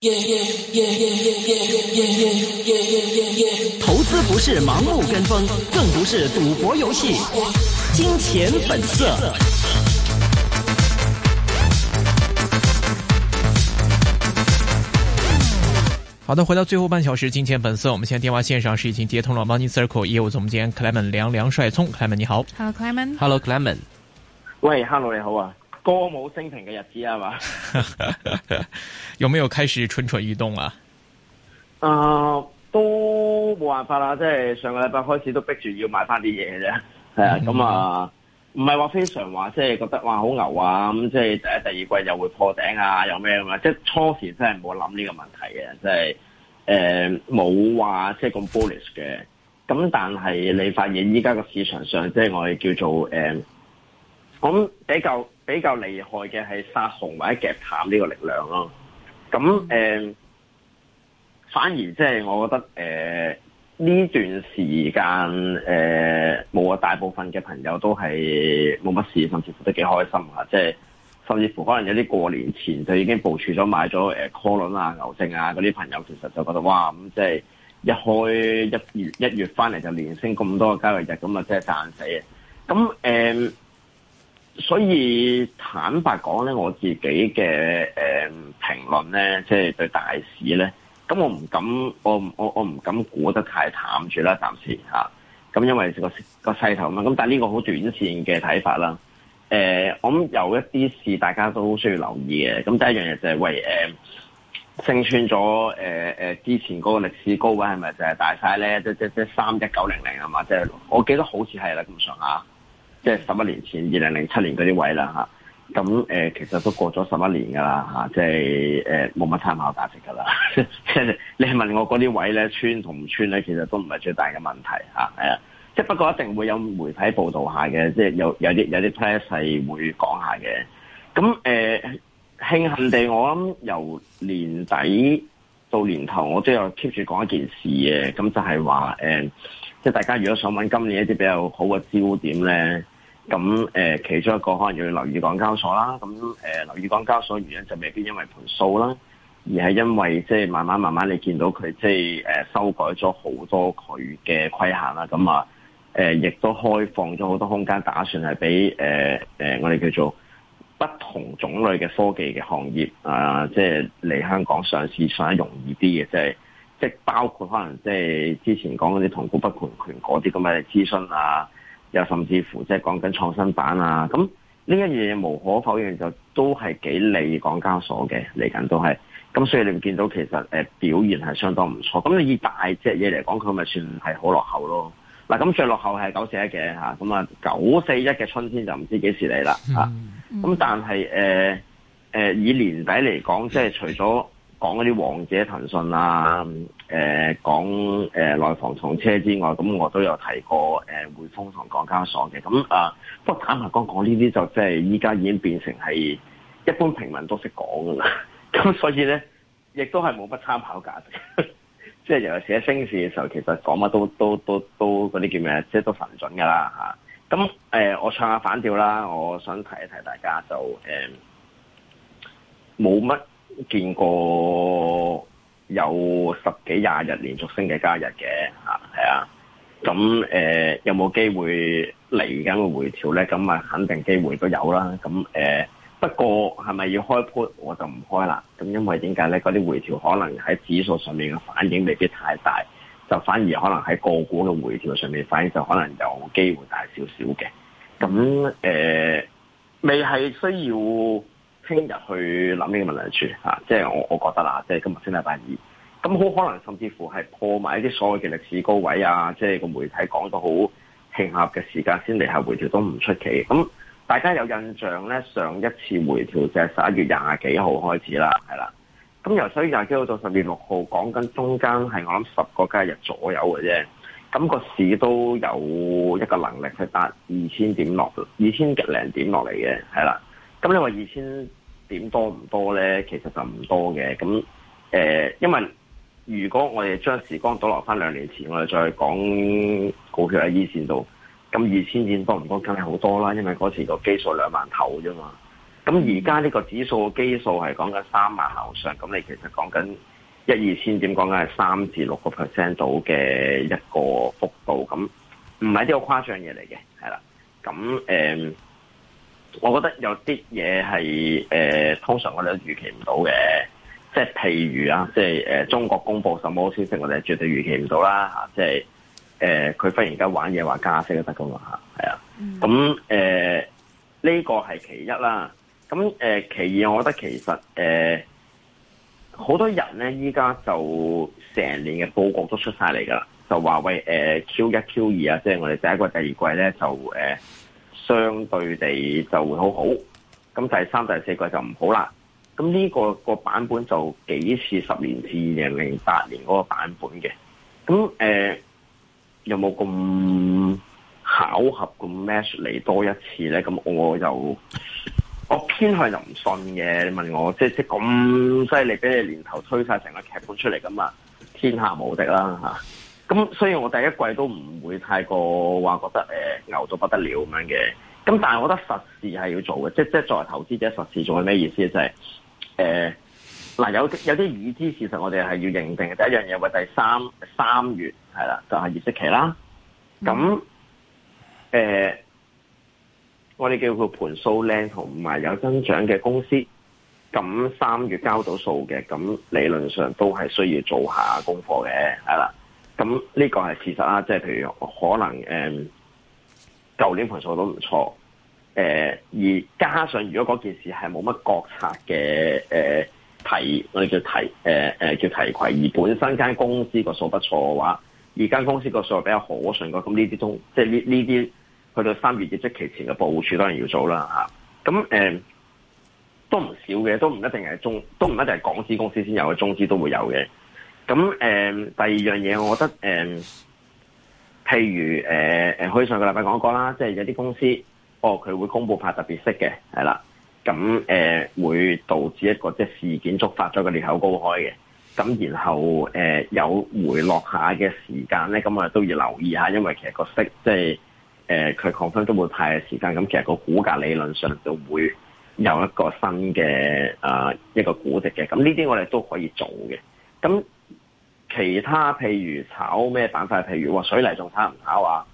投资不是盲目跟风，更不是赌博游戏。金钱本色。好的，回到最后半小时，金钱本色。我们现在电话线上是已经接通了 Money Circle 业务總監 Clement 梁帥聰 Clement 你好。 Hello Clement。 Hello Clement。 喂 ，Hello 你好啊，歌舞升平嘅日子係嘛？ 有沒有開始蠢蠢欲動啊？ 都冇辦法啦，即係上個禮拜開始都逼住要買翻啲嘢嘅啫，係啊，咁啊，唔係話非常話即係覺得哇好牛啊，咁即係第一、第二季又會破頂啊，有咩咁啊？即係初時真係冇諗呢個問題嘅，即係冇話即係咁 bullish 嘅，咁但係你發現依家個市場上即係我哋叫做我諗比較厲害嘅係殺紅或者夾淡呢個力量咯，咁反而即係我覺得呢段時間冇啊，大部分嘅朋友都係冇乜事，甚至乎都幾開心啊！即係甚至乎可能有啲過年前就已經部署咗買咗call輪啊、牛證啊嗰啲朋友，其實就覺得哇咁即係一開一月翻嚟就連升咁多個交易日，咁啊真係賺死啊！咁所以坦白講咧，我自己嘅評論咧，即係對大市咧。咁我唔敢，我唔敢估得太淡住啦，暫時嚇。咁因為個勢頭嘛，咁但係呢個好短線嘅睇法啦。我諗有一啲事大家都需要留意嘅。咁第一樣嘢就係勝穿咗之前嗰個歷史高位係咪就係大晒咧？即31900啊嘛，即係我記得好似係啦咁上下，即係11年前2007年嗰啲位啦嚇。咁其實都過咗11年㗎啦嚇，即係冇乜參考價值㗎啦。即係你問我嗰啲位咧穿同唔穿咧，其實都唔係最大嘅問題嚇，係啊。即係不過一定會有媒體報導下嘅，即係有啲 press 係會講下嘅。咁慶幸地，我諗由年底到年頭，我都有 keep 住講一件事嘅。咁就係話即係大家如果想揾今年一啲比較好嘅焦點咧。咁其中一個可能要留意港交所啦，咁留意港交所原因就未必因為盤數啦，而係因為即係慢慢你見到佢即係修改咗好多佢嘅規限啦，咁啊亦都開放咗好多空間，打算係俾我哋叫做不同種類嘅科技嘅行業啊，即係嚟香港上市上得容易啲嘅，即係包括可能即係之前講嗰啲同股不同權嗰啲咁嘅諮詢啊。又甚至乎即係講緊創新板啊，咁呢一樣嘢無可否認就都係幾利港交所嘅，嚟緊都係，咁所以你會見到其實表現係相當唔錯。咁你以大隻嘢嚟講，佢咪算係好落後咯。嗱，咁最落後係941嘅嚇，咁啊941嘅春天就唔知幾時嚟啦嚇。咁但係以年底嚟講，即係除咗講嗰啲王者騰訊啊，講內房同車之外，咁我都有提過匯豐同港交所嘅。咁不過坦白講呢啲就即係依家已經變成係一般平民都識講㗎啦。咁所以咧，亦都係冇乜參考價值。即係尤其是喺升市嘅時候，其實講乜都嗰啲叫咩？即係都神準㗎啦嚇。咁我唱下反調啦，我想提一提大家就冇乜見過有10幾20日連續升嘅交易嘅嚇，係啊，咁有冇機會嚟緊嘅回調咧？咁啊肯定機會都有啦。咁不過係咪要開 put 我就唔開啦。咁因為點解咧？嗰啲回調可能喺指數上面嘅反應未必太大，就反而可能喺個股嘅回調上面反應就可能有機會大少少嘅。咁未係需要聽日去諗呢個問題住嚇，即係我覺得啦，即係今日先禮拜二，咁好可能甚至乎係破埋一啲所謂嘅歷史高位啊！即係個媒體講到好慶合嘅時間先嚟下回調都唔出奇。咁大家有印象咧，上一次回調就係11月20幾號開始啦，係啦。咁由11月20幾號到10月6號，講緊中間係我諗10個交易日左右嘅啫。咁個市都有一個能力去達2000點落2000零點落嚟嘅，係啦。咁你話2000點多唔多咧？其實就唔多嘅。咁因為如果我哋將時光倒落翻2年前，我哋再講股票喺E線度，咁2000點多唔多？梗係好多啦，因為嗰時個基數2萬頭啫嘛。 咁而家呢個指數嘅基數係講緊3萬樓上，咁你其實講緊1-2千點，講緊係3至6% 度嘅一個幅度，咁唔係啲好誇張嘢嚟嘅，係啦。咁我覺得有啲嘢係通常我哋都預期唔到嘅，即係譬如啊，即係中國公布什麼消息，我哋絕對預期唔到啦嚇，即係佢忽然間玩嘢話加息都得噶嘛嚇，係啊。咁呢個係其一啦。咁其二，我覺得其實好多人咧，依家就成年嘅佈局都出晒嚟噶啦，就話喂Q1、Q2 啊，即係我哋第一季、第二季咧就相對地就會好好，咁第三、第四季就唔好啦。咁呢個版本就幾似10年至2008年嗰個版本嘅。咁有冇咁巧合咁 match 嚟多一次咧？咁我偏向就唔信嘅。你問我即咁犀利，俾你年頭推晒成個劇本出嚟咁啊，天下無敵啦嚇！咁所以我第一季都唔會太過話覺得牛到不得了咁樣嘅。咁但係我覺得實事係要做嘅，即作為投資者實事做係咩意思？就係嗱有啲已知事實我哋係要認定嘅。第一樣嘢為第三月係啦，就係業績期啦。咁我哋叫佢盤數靚同埋有增長嘅公司，咁3月交到數嘅，咁理論上都係需要做下功課嘅，係啦。咁呢個係事實啦，即係譬如可能舊年盤數都唔錯，而加上如果嗰件事係冇乜國策嘅我哋叫提攜，而本身間公司個數不錯嘅話，而間公司個數比較可信嘅，咁呢啲都即係呢啲。去到3月業績期前嘅部署當然要做啦嚇，咁都唔少嘅，都唔一定係港資公司先有嘅，中資都會有嘅。咁第二樣嘢，我覺得譬如好似上個禮拜講過啦，即係有啲公司佢會公布派特別息嘅，係啦，咁會導致一個即係事件觸發咗個裂口高開嘅，咁然後有回落下嘅時間咧，咁我哋都要留意下，因為其實個息即係。佢confirm都會派嘅時間，咁其實個股價理論上就會有一個新嘅一個估值嘅，咁呢啲我哋都可以做嘅。咁其他譬如炒咩板塊，譬如話水泥仲炒唔炒啊？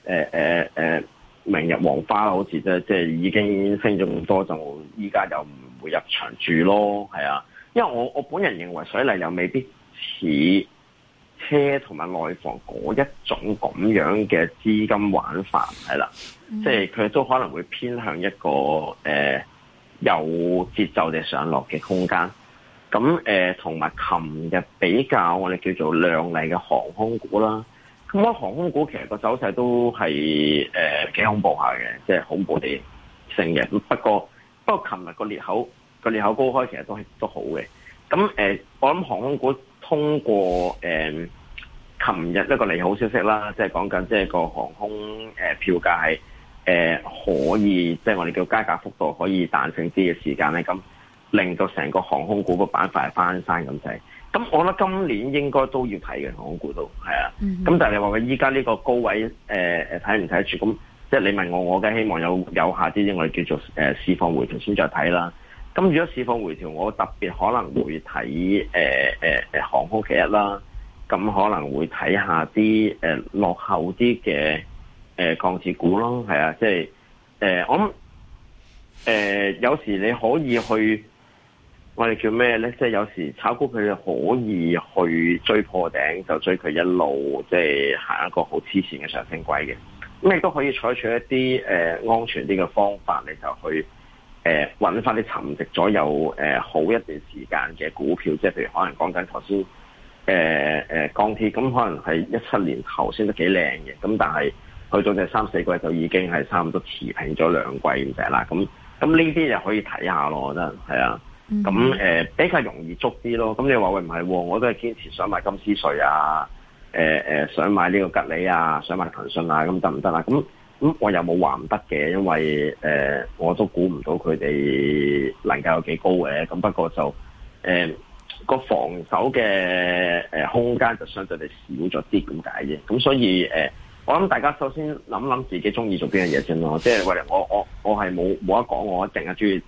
明日黃花好似即係已經升咗咁多，就依家又唔會入場住咯，係啊。因為我本人認為水泥又未必似車同埋內房嗰一種咁樣嘅資金玩法係啦，即係佢都可能會偏向一個有節奏地上落嘅空間。咁同埋琴日比較我哋叫做亮麗嘅航空股啦。咁我航空股其實個走勢都係幾恐怖下嘅，即係恐怖地升嘅。不過琴日個裂口高開其實都好嘅。咁我諗航空股通過琴日一個利好消息啦，即係講緊即係個航空票價係可以即係我哋叫加價幅度可以彈性啲嘅時間咧，咁令到成個航空股個板塊係翻山咁滯。咁我覺得今年應該都要睇嘅航空股都係啊。咁但係你話佢依家呢個高位睇唔睇得住？咁即係你問我梗係希望有下啲我哋叫做市況回調先再睇啦。咁如果市況回調，我特別可能會睇航空其一啦。咁可能會睇下啲落後啲嘅鋼鐵股咯，係啊，即係我諗有時你可以去我哋叫咩咧？即係有時炒股佢可以去追破頂，就追佢一路即係行一個好黐線嘅上升軌嘅。咁亦都可以採取一啲安全啲嘅方法，你就去揾翻啲沉寂咗有好一段時間嘅股票，即係譬如可能講緊頭先。鋼鐵咁可能係17年頭先都幾靚嘅，咁但係去到第3、4季就已經係差唔多持平咗2季咁滯啦。咁呢啲就可以睇下咯，我覺得係啊。咁比較容易捉啲咯。咁你話喂唔係，我都係堅持想買金斯瑞啊，想買呢個吉利啊，想買騰訊啊，咁得唔得啊？咁我又冇話唔得嘅，因為我都估唔到佢哋能夠有幾高嘅。咁不過就個防守嘅空間就相對地少咗啲咁解啫，咁所以我諗大家首先諗諗自己中意做邊樣嘢先咯，即係喂我係冇得講，我一定係中意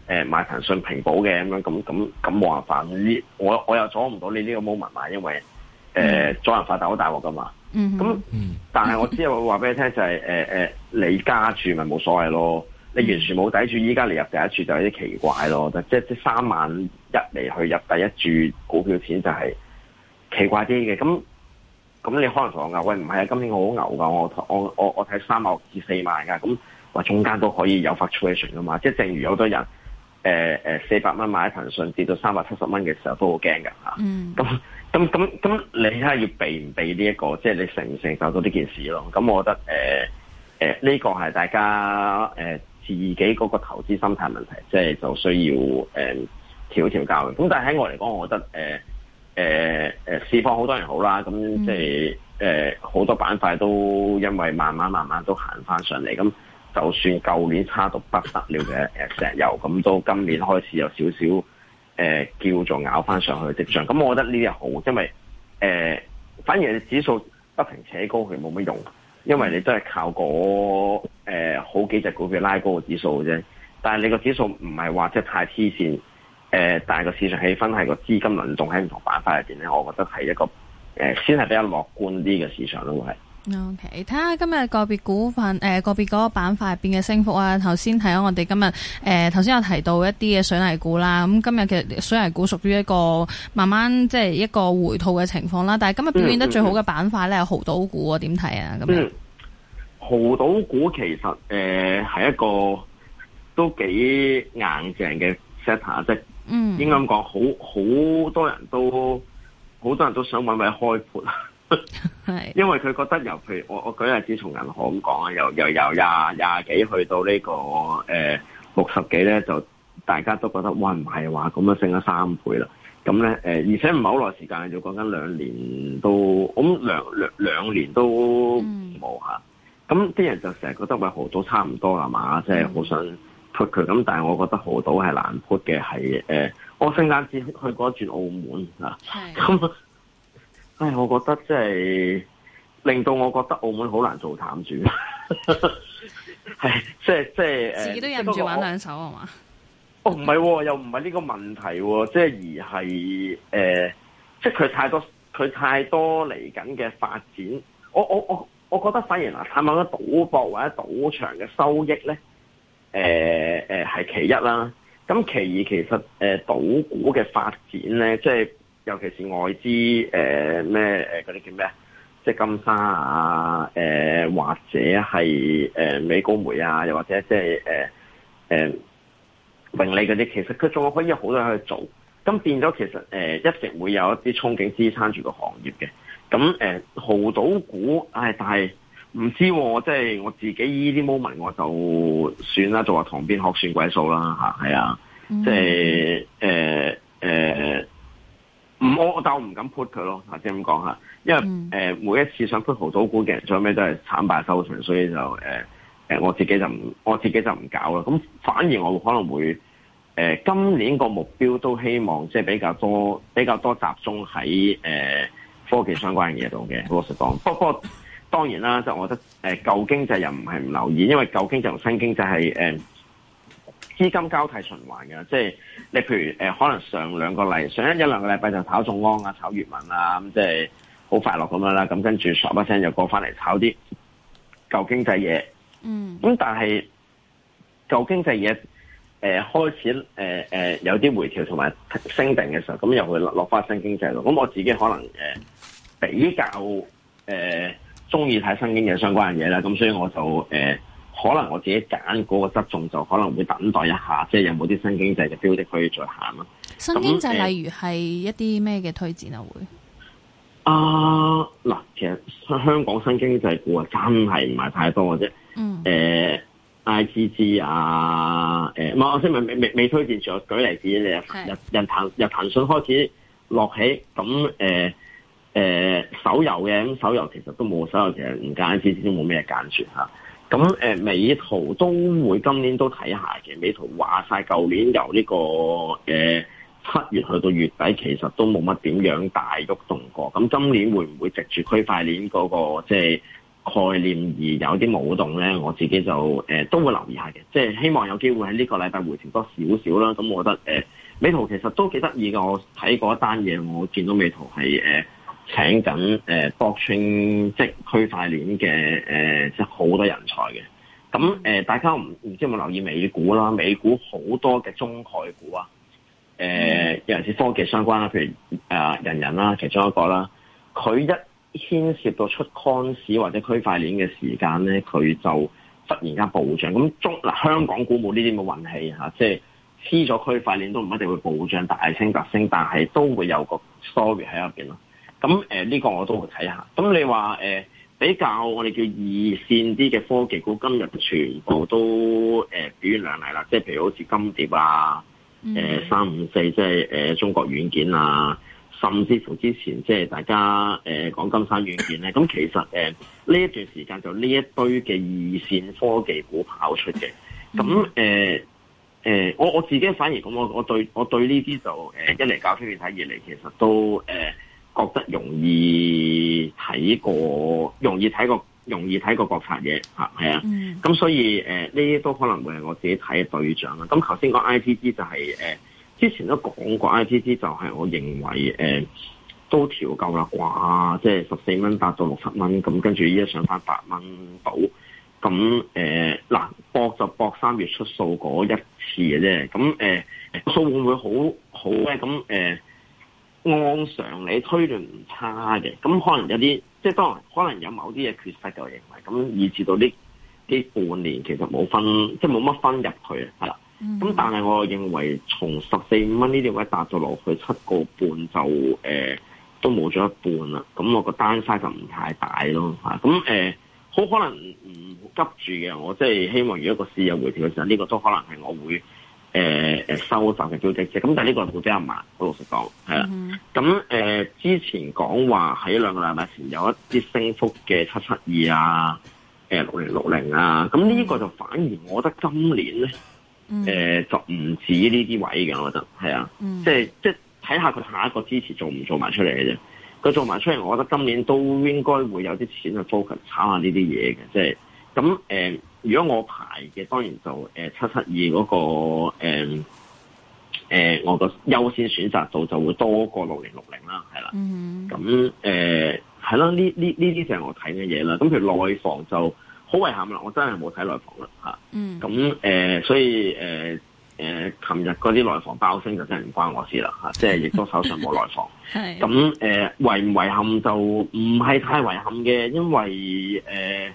買騰訊平保嘅咁冇辦法，我又阻唔到你呢個 moment 嘛，因為阻人發達好大鑊噶嘛。但係我只係會話俾你聽就係你加注咪冇所謂咯，你完全冇抵住，依家你入第一注就有啲奇怪咯，即3萬1嚟去入第一注股票錢就係奇怪啲嘅。咁你可能同我講喂，唔係啊，今年我好牛噶，我睇3萬至4萬噶，咁話中間都可以有 fluctuation 噶嘛，即係正如有好多人400蚊買騰訊跌到370蚊嘅時候都好驚噶嚇。咁你睇下要避唔避呢一個，即係你承唔承受到呢件事咯？咁我覺得呢個係大家自己嗰個投資心態問題，即係就需要調教嘅。咁但係喺我嚟講，我覺得市況好多人好啦，咁即係好多板塊都因為慢慢都行翻上嚟。咁就算舊年差到不得了嘅石油，咁都今年開始有少少叫做咬翻上去嘅跡象。咁我覺得呢啲係好，因為反而你指數不停扯高佢冇乜用，因為你都係靠好幾隻股票拉高個指數嘅啫。但係你個指數唔係話即係太黐線，但係個市場氣氛係個資金輪動喺唔同板塊入邊咧，我覺得係一個先係比較樂觀啲嘅市場咯，會係。 OK， 睇下今日個別股份個別嗰個板塊入邊嘅升幅啊。頭先睇咗我哋今日頭先有提到一啲嘅水泥股啦，咁今日嘅水泥股屬於一個慢慢即係一個回吐嘅情況啦。但係今日表現得最好嘅板塊咧係濠賭股，點睇啊？咁樣濠賭股其實係一個都幾硬淨嘅 sector， 即係應該咁講，好多人都想揾位開盤。因為佢覺得譬如我舉例子從銀行咁講啊，由廿幾去到呢個60幾咧，就大家都覺得哇唔係話咁樣升咗3倍啦。咁咧而且唔係好耐時間，就講緊2年都咁兩年都冇嚇。咁啲人就成日覺得喂濠賭差唔多啦嘛，即係好想 put 佢。咁但係我覺得濠賭係難 put 嘅，係我聖誕節去過一轉澳門啊，咁。我覺得即係令到我覺得澳門好難做淡主，係即係自己都忍唔住玩兩手啊嘛？ 唔係，又唔係呢個問題，即係而係即係佢太多嚟緊嘅發展。我覺得反而嗱，探討賭博或者賭場嘅收益咧，係其一啦。咁其二，其實賭股嘅發展咧，即係。尤其是外資嗰啲叫咩啊？即係金沙啊，或者係美高梅啊，又或者即係榮利嗰啲，其實佢仲可以有好多嘢去做。咁變咗其實一直會有一啲憧憬支撐住個行業嘅。咁濠賭股，但係唔知喎，即係我自己呢啲 moment 我就算啦，就話塘邊鶴算鬼數啦嚇，係啊，即係但我唔敢 put 佢咯，即係咁講下，因為每一次想 put 濠賭股嘅人，最尾都係慘敗收場，所以就我自己就唔搞啦。咁反而我可能會今年個目標都希望即係比較多集中喺科技相關嘅嘢度嘅。老實講，不過當然啦，就我覺得舊經濟又唔係唔留意，因為舊經濟同新經濟係資金交替循環嘅，即係你譬如可能上一兩個禮拜就炒眾安啊、炒粵文啊，咁即係好快樂咁樣啦。咁跟住唰一聲又過翻嚟炒啲舊經濟嘢。咁但係舊經濟嘢開始有啲回調同埋升定嘅時候，咁又會落翻新經濟度。咁我自己可能比較中意睇新經濟相關嘅嘢啦。咁所以我就可能我自己揀嗰個側重就可能會等待一下，即係有冇啲新經濟嘅標的可以再行咯。 新經濟例如係一啲咩嘅推薦啊？會嗱，其實香港新經濟股啊，真係唔係太多嘅啫。IGG 啊，我先未推薦住。我舉例子，由騰訊開始落起，咁手遊嘅，咁手遊其實都冇，手遊其實唔揀 IGG 都冇咩揀住嚇。咁美圖都會今年都睇下嘅，美圖話晒舊年由呢個7月去到月底，其實都冇乜點樣大喐動過。咁今年會唔會藉住區塊鏈嗰個即係概念而有啲舞動咧，我自己就都會留意下嘅，即係希望有機會喺呢個禮拜回調多少少啦。咁我覺得美圖其實都幾得意㗎，我睇過一單嘢，我見到美圖係請緊blockchain 即係區塊鏈嘅即係好多人才嘅。咁大家唔知有冇留意美股啦？美股好多嘅中概股啊，尤其是科技相關啦，譬如人啦，其中一個啦，佢一牽涉到出 Coins 或者區塊鏈嘅時間咧，佢就忽然間暴漲。咁香港股冇呢啲咁嘅運氣嚇，即係黐咗區塊鏈都唔一定會暴漲大升特升，但係都會有個 story 喺入邊咯。咁呢個我都會睇下。咁你話比較我哋叫二線啲嘅科技股，今日全部都表現亮麗啦。即係譬如好似金蝶啊、354即係中國軟件啊。甚至乎之前即係大家講金山軟件咧，咁其實呢一段時間就呢一堆嘅二線科技股跑出嘅，咁我自己反而咁，我對呢啲就一嚟搞出面睇，二嚟其實都覺得容易睇過國策嘢嚇，係啊，咁所以呢啲都可能會係我自己睇嘅對象啦。咁頭先講 ITG 就係之前都講過 ITG 就係我認為都調夠啦啩，即係14蚊達到60蚊，咁跟住依家上翻8蚊到，咁嗱搏就搏3月出數嗰一次嘅啫，咁數會唔會好咧？咁按常理推斷唔差嘅，咁可能有啲即係當然可能有某啲嘢缺失嘅，我認為咁以至到呢半年其實冇分，即係冇乜分入去係啦。咁但係我認為從14-15蚊呢啲位達到落去7個半就都冇咗一半啦。咁我個單 size 就唔太大咯嚇。咁好可能唔急住嘅，我即係希望如果個市有回調嘅時候，呢個都可能係我會收集嘅標的啫。咁但係呢個會比較慢，好老實講係啦。咁之前講話喺2個禮拜前有一啲升幅嘅772啊、6060啊，咁呢個就反而我覺得今年咧。就唔止呢啲位嘅，我覺得係啊，即係睇下佢下一個支持做唔做埋出嚟嘅啫。佢做埋出嚟，我覺得今年都應該會有啲錢去 focus 炒下呢啲嘢嘅。即係咁如果我排嘅，當然就772嗰個我個優先選擇度就會多過6060啦，係啦。咁係咯，呢啲就係我睇嘅嘢啦。咁譬如內房就。好遺憾啦，我真係冇睇內房啦嚇。咁所以琴日嗰啲內房爆升就真係唔關我事啦嚇，即係亦都手上冇內房。咁遺唔遺憾就唔係太遺憾嘅，因為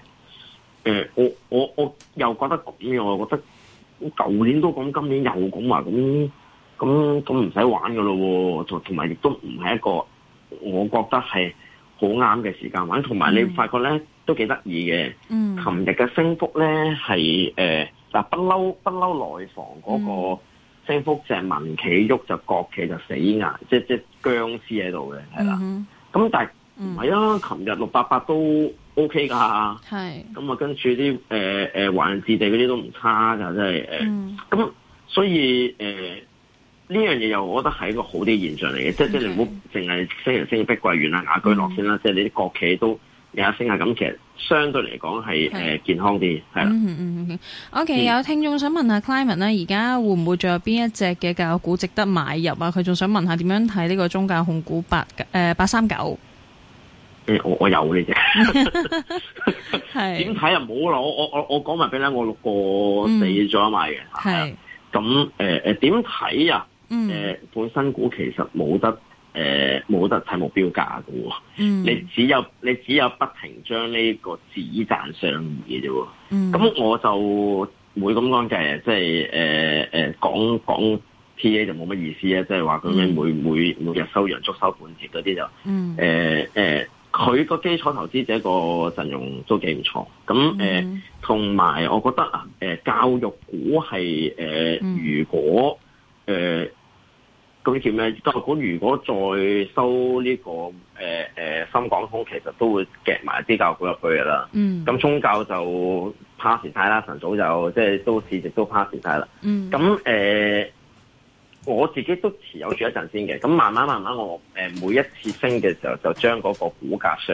我又覺得咁樣，我覺得舊年都講，今年又講話咁唔使玩噶咯喎，同埋亦都唔係一個我覺得係好啱嘅時間玩，同埋你發覺咧。都幾得意嘅，琴日嘅升幅咧係不嬲內房嗰個升幅就係民企喐就國企就死硬，即僵屍喺度嘅，係啦。咁但係唔係啊？琴日688都 OK 㗎，係咁啊，跟住啲華潤置地嗰啲都唔差㗎，真係咁所以呢樣嘢又我覺得係一個好啲現象嚟嘅，即係你唔好淨係升碧桂園啊、雅居樂先啦，即係你啲國企都。有一升下咁，其實相對嚟講係健康啲，係啦。 OK，有聽眾想問下 Clement 咧，而家會唔會仲有邊一隻嘅教育股值得買入啊？佢仲想問下點樣睇呢個中教控股839。 我有呢隻。係點睇啊？冇啦，我講埋俾你，我6個4咗買嘅。係咁點睇啊？本身股其實冇得睇目標價嘅喎，你只有不停將呢個子彈上移嘅啫喎，咁我就會咁講嘅，即係講 P A 就冇乜意思啊，即係話咁樣每日收陽燭收半截嗰啲就，佢個基礎投資者個陣容都幾唔錯，咁同埋我覺得教育股係如果咁叫咩？教育股如果再收呢個深港通，其實都會夾埋啲教育股入去㗎啦。咁中教就 pass 晒啦，晨早就即係都市值都 pass 晒啦。咁我自己都持有住一陣先嘅。咁慢慢我每一次升嘅時候，就將嗰個股價上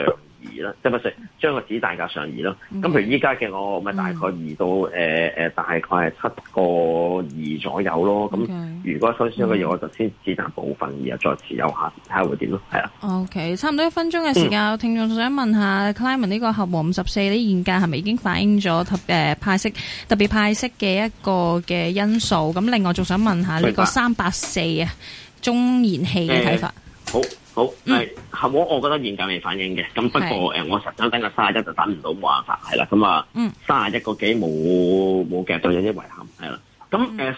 移啦，即係唔係將個指大價上移咯。咁譬如依家嘅我咪大概移到大概係7.2左右咯。咁如果收市嘅嘢，我就先止賺部分，然後再持有下，睇下會點咯。係啊。 OK， 差唔多1分鐘嘅時間，聽眾想問下 Clement 呢個合和54呢現價係咪已經反映咗特別派息嘅一個嘅因素？咁另外仲想問下呢個384啊中燃氣嘅睇法。 好，合和我覺得現價未反映嘅，咁不過我實想等個31就等唔到，冇辦法係啦，咁啊31個幾冇夾到有啲遺憾係啦，咁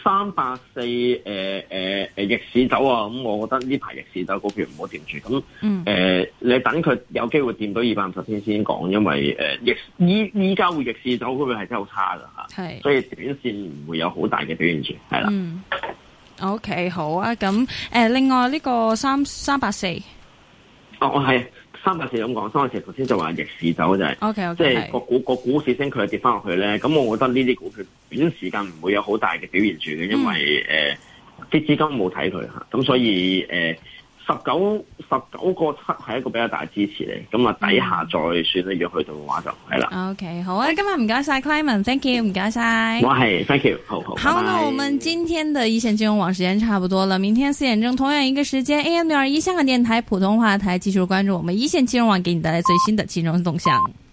384逆市走啊，咁我覺得呢排逆市走股票唔好掂住，咁你等佢有機會掂到250天先講，因為依家會逆市走股票係真係好差噶嚇，所以短線唔會有好大嘅表現住係啦。 OK， 好啊，咁另外呢個384， 我係384咁講，384頭先就話逆市走就係，OK， 即係個股市升佢又跌翻落去咧，咁我覺得呢啲股票短時間唔會有好大嘅表現住嘅，因為啲資金冇睇佢嚇，咁所以19個7係一個比較大支持嚟，咁啊底下再算咧，如果去到嘅話就係啦。 OK， 好啊，今日唔該晒 Clement，thank you， 唔該晒。 我係 thank you， 好， 好，那我們今天的一線金融網時間差不多了，明天4點鐘同樣一個時間 AM621香港電台普通話台繼續關注我們一線金融網，給你帶來最新的金融動向。